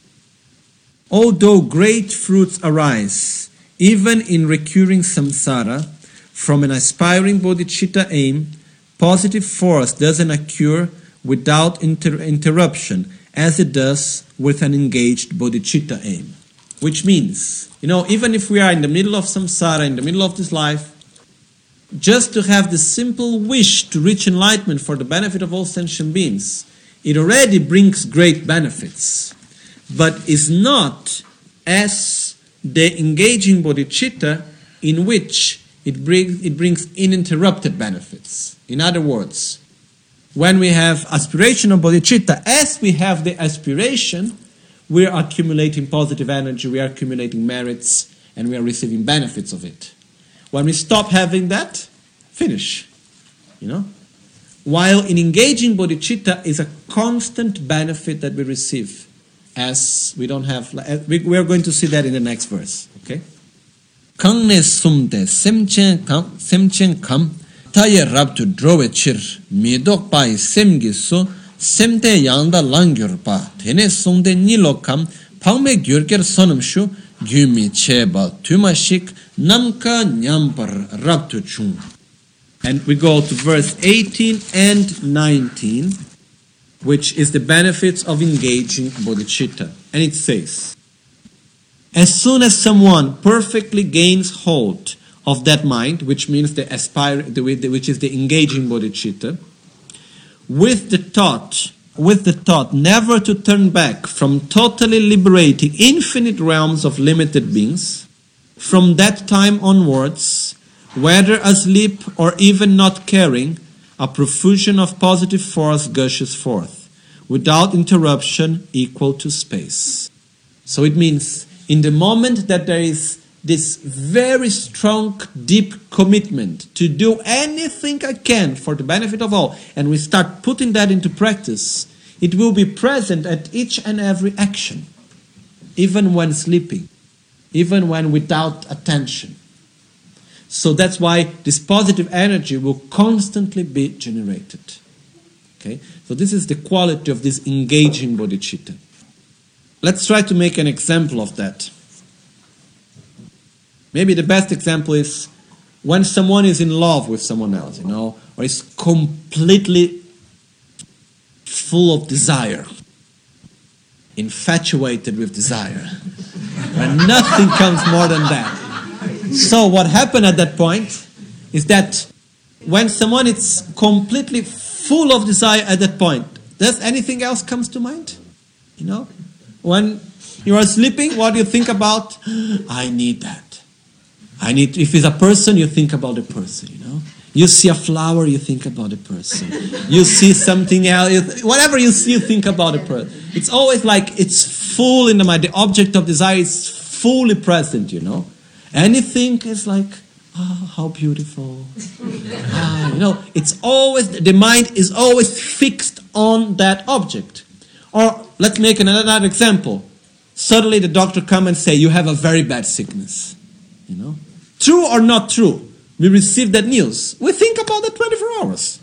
Although great fruits arise, even in recurring samsara, from an aspiring bodhicitta aim, positive force doesn't occur without inter- interruption, as it does with an engaged bodhicitta aim. Which means, you know, even if we are in the middle of samsara, in the middle of this life, just to have the simple wish to reach enlightenment for the benefit of all sentient beings, it already brings great benefits, but is not as the engaging bodhicitta in which it brings, it brings uninterrupted benefits. In other words, when we have aspirational bodhicitta, as we have the aspiration, we are accumulating positive energy, we are accumulating merits, and we are receiving benefits of it. When we stop having that, finish. You know? While in engaging bodhicitta is a constant benefit that we receive, as we don't have, we are going to see that in the next verse. Okay? Kangne sumde semchen kam semchen kam taye rabtu drowe chir midok pai semgi so semte yanda langyur pa tene sumde nilo kam pangme gyurker sonum shu gyumi cheba tumashik namka nyampar rabtu chung. And we go to verse eighteen and nineteen, which is the benefits of engaging bodhicitta. And it says, as soon as someone perfectly gains hold of that mind, which means the aspire, which is the engaging bodhicitta, with the thought, with the thought never to turn back from totally liberating infinite realms of limited beings, from that time onwards, whether asleep or even not caring, a profusion of positive force gushes forth, without interruption, equal to space. So it means, in the moment that there is this very strong, deep commitment to do anything I can for the benefit of all, and we start putting that into practice, it will be present at each and every action. even when sleeping, even when without attention. So that's why this positive energy will constantly be generated. Okay? So this is the quality of this engaging bodhicitta. Let's try to make an example of that. Maybe the best example is when someone is in love with someone else, you know, or is completely full of desire, infatuated with desire, and nothing comes more than that. So what happened at that point is that when someone is completely full of desire at that point, does anything else comes to mind? You know, when you are sleeping, what do you think about? I need that. I need. If it's a person, you think about the person. You know, you see a flower, you think about the person. You see something else, whatever you see, you think about the person. It's always like it's full in the mind. The object of desire is fully present. You know, anything is like, oh, how beautiful. Ah, you know, it's always the mind is always fixed on that object. Or let's make another example. Suddenly the doctor comes and say, you have a very bad sickness. You know, true or not true, we receive that news. We think about that twenty-four hours.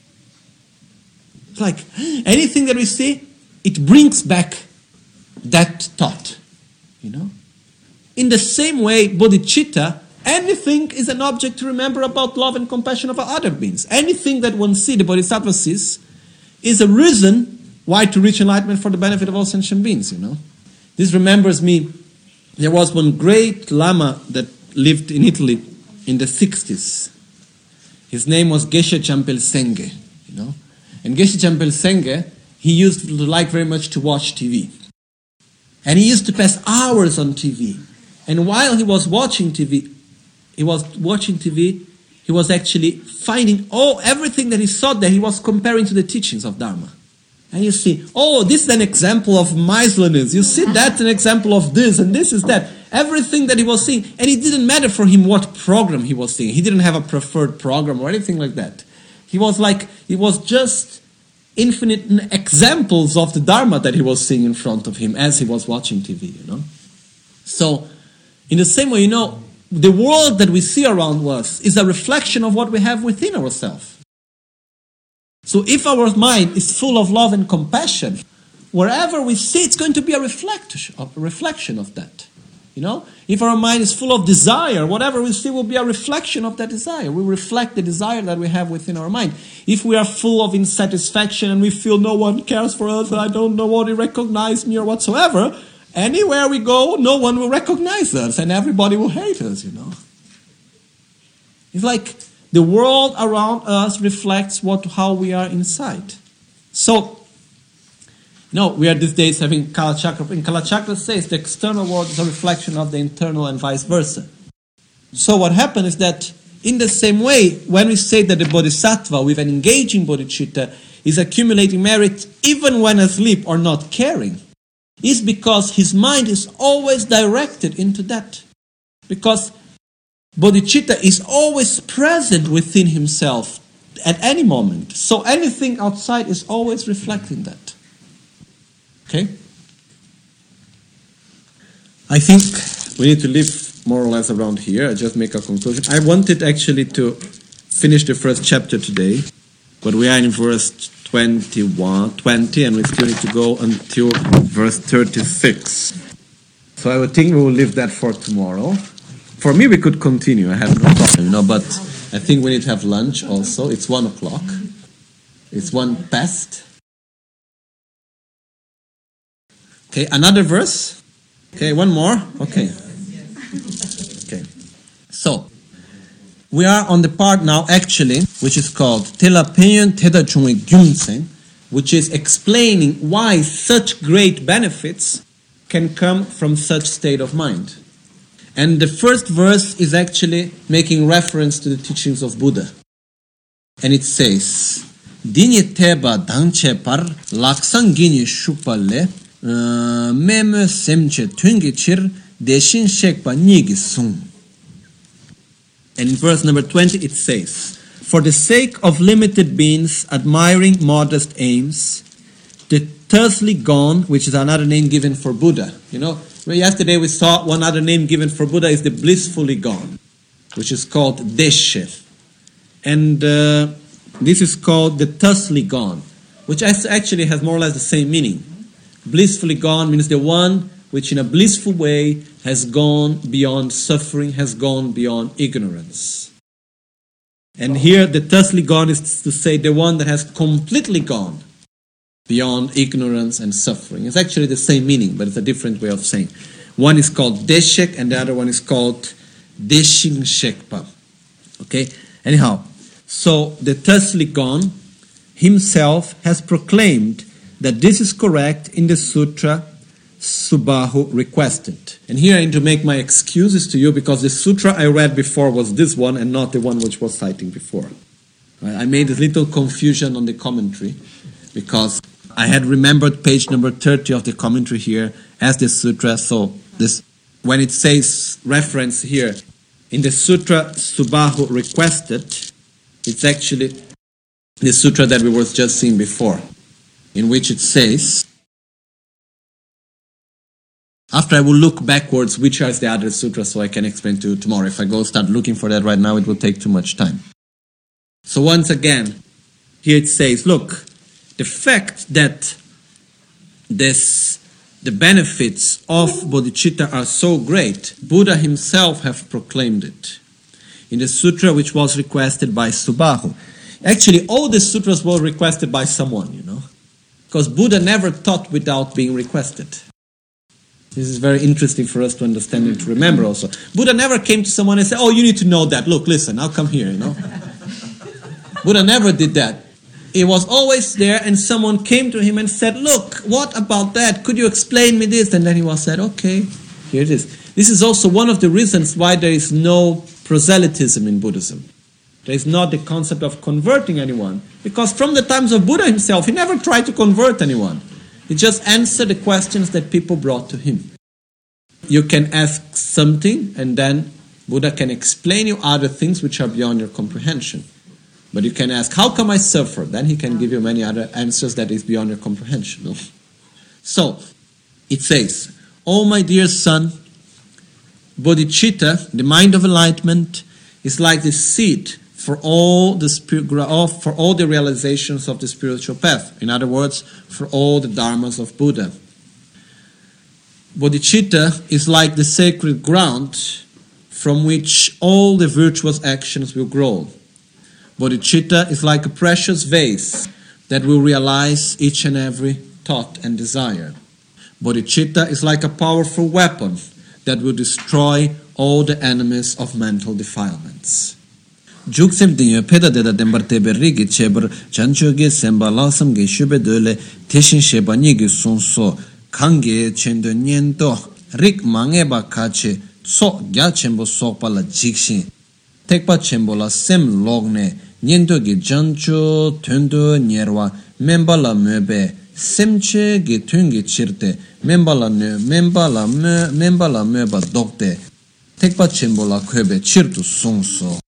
It's like anything that we see, it brings back that thought. You know, in the same way, bodhicitta, anything is an object to remember about love and compassion of other beings. Anything that one sees, the bodhisattva sees, is a reason why to reach enlightenment for the benefit of all sentient beings. You know, this remembers me. There was one great Lama that lived in Italy in the sixties. His name was Geshe Champel Senge, you know. And Geshe Champel Senge, he used to like very much to watch T V. And he used to pass hours on T V. And while he was watching T V, he was watching T V, he was actually finding all everything that he saw there, he was comparing to the teachings of Dharma. And you see, oh, this is an example of miserliness. You see, that's an example of this, and this is that. Everything that he was seeing. And it didn't matter for him what program he was seeing. He didn't have a preferred program or anything like that. He was like, it was just infinite examples of the Dharma that he was seeing in front of him as he was watching T V, you know. So, in the same way, you know, the world that we see around us is a reflection of what we have within ourselves. So if our mind is full of love and compassion, wherever we see, it's going to be a reflection of, a reflection of that. You know, if our mind is full of desire, whatever we see will be a reflection of that desire. We reflect the desire that we have within our mind. If we are full of insatisfaction and we feel no one cares for us, and I don't know what to recognize me or whatsoever, anywhere we go, no one will recognize us and everybody will hate us, you know. It's like the world around us reflects what how we are inside. So, no, we are these days having Kalachakra. And Kalachakra says the external world is a reflection of the internal and vice versa. So what happens is that in the same way, when we say that the bodhisattva with an engaging bodhicitta is accumulating merit even when asleep or not caring, is because his mind is always directed into that. Because bodhicitta is always present within himself at any moment. So anything outside is always reflecting that. Okay? I think we need to leave more or less around here. I just make a conclusion. I wanted actually to finish the first chapter today, but we are in verse twenty-one, twenty, and we still need to go until verse thirty-six. So I would think we will leave that for tomorrow. For me, we could continue. I have no problem, you know, but I think we need to have lunch also. It's one o'clock. It's one past. Okay, another verse. Okay, one more. Okay. Okay. So, we are on the part now, actually, which is called Telapeyon Teda Chungwe Gyumsen, which is explaining why such great benefits can come from such state of mind. And the first verse is actually making reference to the teachings of Buddha. And it says, Dinye teba dangche par laksan gini shukpalle meme semche tungi chir deshin shekpa nigi sung. And in verse number twenty it says, for the sake of limited beings admiring modest aims, the tersely gone, which is another name given for Buddha. You know, So yesterday we saw one other name given for Buddha is the blissfully gone, which is called Deshe. And uh, this is called the thusly gone, which actually has more or less the same meaning. Blissfully gone means the one which in a blissful way has gone beyond suffering, has gone beyond ignorance. And here the thusly gone is to say the one that has completely gone beyond ignorance and suffering. It's actually the same meaning, but it's a different way of saying. One is called Deshek and the other one is called Deshin Shekpa. Okay? Anyhow, so the thusly gone himself has proclaimed that this is correct in the sutra Subahu requested. And here I need to make my excuses to you because the sutra I read before was this one and not the one which was citing before. I made a little confusion on the commentary because I had remembered page number thirty of the commentary here as the sutra. So this, when it says reference here in the sutra Subahu requested, it's actually the sutra that we were just seeing before, in which it says, after I will look backwards which is the other sutra so I can explain to you tomorrow. If I go start looking for that right now, it will take too much time. So once again, here it says, look, the fact that this, the benefits of bodhicitta are so great, Buddha himself have proclaimed it in the sutra which was requested by Subahu. Actually, all the sutras were requested by someone, you know, because Buddha never taught without being requested. This is very interesting for us to understand and to remember also. Buddha never came to someone and said, oh, you need to know that. Look, listen, I'll come here, you know. Buddha never did that. He was always there and someone came to him and said, look, what about that? Could you explain me this? And then he was said, okay, here it is. This is also one of the reasons why there is no proselytism in Buddhism. There is not the concept of converting anyone. Because from the times of Buddha himself, he never tried to convert anyone. He just answered the questions that people brought to him. You can ask something and then Buddha can explain you other things which are beyond your comprehension. But you can ask, how come I suffer? Then he can give you many other answers that is beyond your comprehension. No? So, it says, oh my dear son, bodhicitta, the mind of enlightenment, is like the seed for all the spirit, for all the realizations of the spiritual path. In other words, for all the dharmas of Buddha. Bodhicitta is like the sacred ground from which all the virtuous actions will grow. Bodhicitta is like a precious vase that will realize each and every thought and desire. Bodhicitta is like a powerful weapon that will destroy all the enemies of mental defilements. Juksem dinyo peda deda dembar tebe rigi chebar chancho ge semba lasam ge shube dole teshin sheba nigi sonso kange chendo nyento rik mangeba kache so gya chembo sokpa la jikshin tekpa chembo la sem logne nyento ge jancho tendo nyerwa memba la mebe semche ge tungi chirte memba la ne memba la me memba la meba dokte tekpa chembo la kwebe chirtu sonso.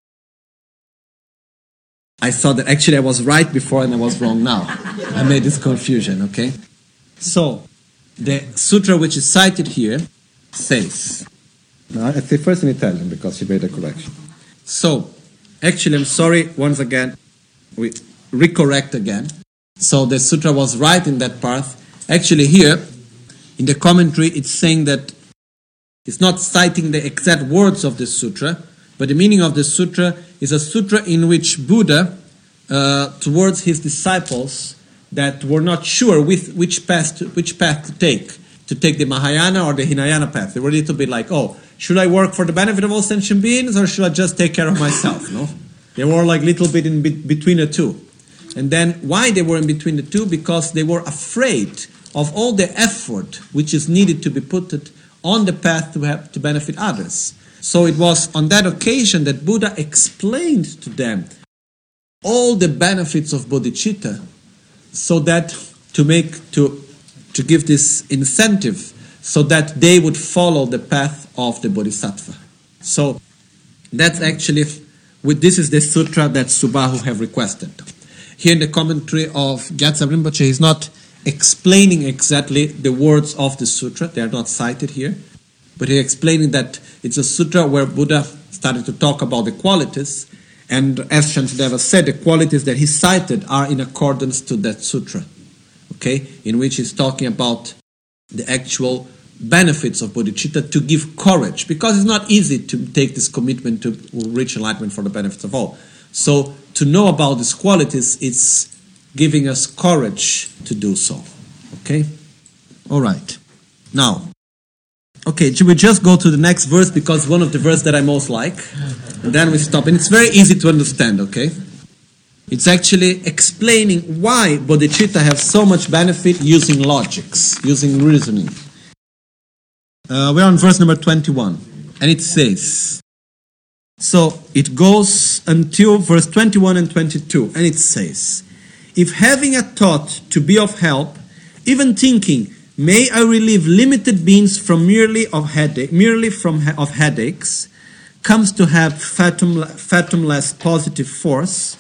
I saw that actually I was right before and I was wrong now. I made this confusion, okay? So, the sutra which is cited here says, now I say first in Italian because she made a correction. So, actually I'm sorry, once again, we recorrect again. So the sutra was right in that part. Actually here, in the commentary, it's saying that it's not citing the exact words of the sutra, but the meaning of the sutra is a sutra in which Buddha, uh, towards his disciples that were not sure with which path to, which path to take, to take the Mahayana or the Hinayana path. They were a little bit like, oh, should I work for the benefit of all sentient beings or should I just take care of myself? No, they were like a little bit in be- between the two. And then why they were in between the two? Because they were afraid of all the effort which is needed to be put on the path to have to benefit others. So it was on that occasion that Buddha explained to them all the benefits of bodhicitta, so that to make to to give this incentive, so that they would follow the path of the bodhisattva. So that's actually with this is the sutra that Subahu have requested. Here in the commentary of Gyatso Rinpoche, he's not explaining exactly the words of the sutra; they are not cited here. but he's explaining that it's a sutra where Buddha started to talk about the qualities, and as Shantideva said, the qualities that he cited are in accordance to that sutra, okay, in which he's talking about the actual benefits of bodhicitta to give courage, because it's not easy to take this commitment to reach enlightenment for the benefits of all. So to know about these qualities, it's giving us courage to do so. Okay? All right. Now, okay, should we just go to the next verse, because one of the verses that I most like, and then we stop. And it's very easy to understand, okay? It's actually explaining why bodhicitta have so much benefit using logics, using reasoning. Uh, we're on verse number twenty-one, and it says, so it goes until verse twenty-one and twenty-two, and it says, if having a thought to be of help, even thinking, may I relieve limited beings from merely of headache, merely from he- of headaches, comes to have fathom, fathomless positive force,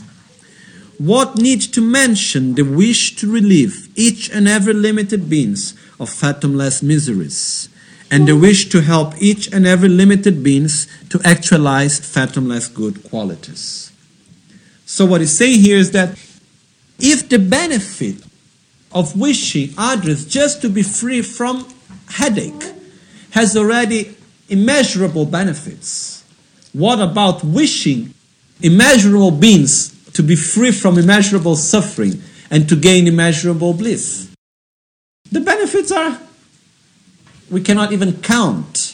what need to mention the wish to relieve each and every limited beings of fathomless miseries, and the wish to help each and every limited beings to actualize fathomless good qualities. So what he's saying here is that if the benefit of wishing others just to be free from headache has already immeasurable benefits, what about wishing immeasurable beings to be free from immeasurable suffering and to gain immeasurable bliss? The benefits are, we cannot even count.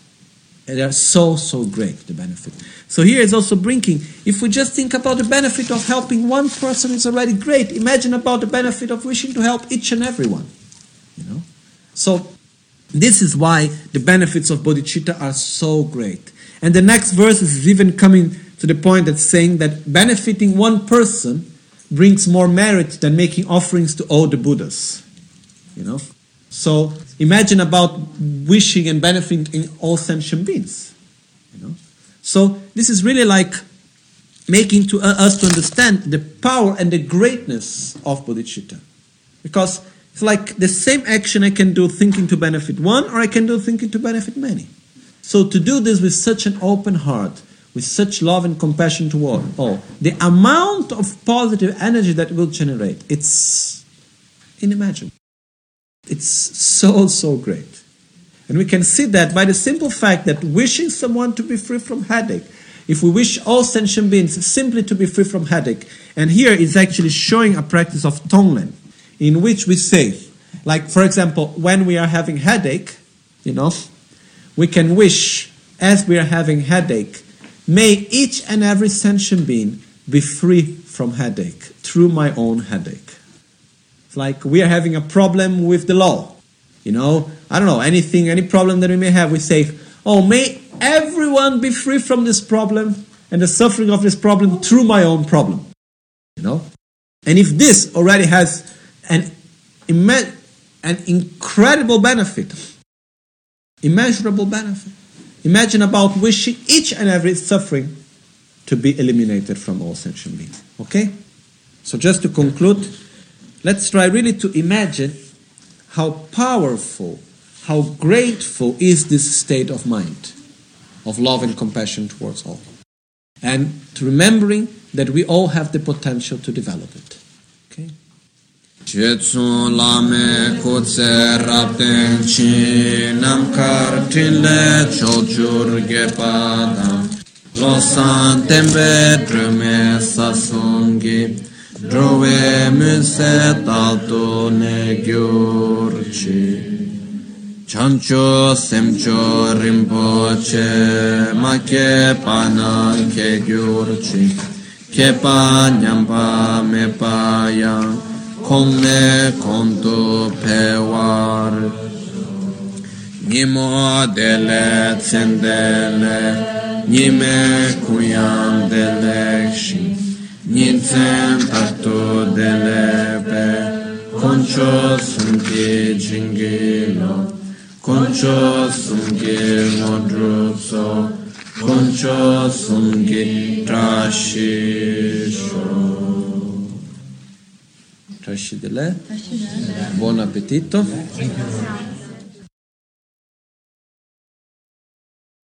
They are so, so great, the benefit. So here is also bringing, if we just think about the benefit of helping one person, it's already great. Imagine about the benefit of wishing to help each and everyone. You know? So this is why the benefits of bodhicitta are so great. And the next verse is even coming to the point that's saying that benefiting one person brings more merit than making offerings to all the Buddhas. You know? So imagine about wishing and benefiting all sentient beings. You know? So this is really like making to uh, us to understand the power and the greatness of bodhicitta. Because it's like the same action I can do thinking to benefit one, or I can do thinking to benefit many. So to do this with such an open heart, with such love and compassion toward all, the amount of positive energy that will generate, it's inimaginable. It's so, so great. And we can see that by the simple fact that wishing someone to be free from headache, if we wish all sentient beings simply to be free from headache, and here is actually showing a practice of Tonglen, in which we say, like for example, when we are having headache, you know, we can wish, as we are having headache, may each and every sentient being be free from headache through my own headache. It's like we are having a problem with the law. You know, I don't know, anything, any problem that we may have, we say, oh, may everyone be free from this problem and the suffering of this problem through my own problem. You know? And if this already has an, imme- an incredible benefit, immeasurable benefit, imagine about wishing each and every suffering to be eliminated from all sentient beings. Okay? So just to conclude, let's try really to imagine how powerful, how grateful is this state of mind, of love and compassion towards all. And to remembering that we all have the potential to develop it. Okay? Jetsun lame kutse rapten chi namkar trile chochur gepada losan tembe drume sasungi drove muse talto ne gyurchi chancho semcho rimpoche make pana ke gyurchi kepa nyampa me paya Kongne konto pewar Nimo dele tsendele Nime kuyan delekshi Nintsen takto delebe Koncho sunki jingilo Koncho sunki modrutso Koncho sunki trashisho Buon appetito.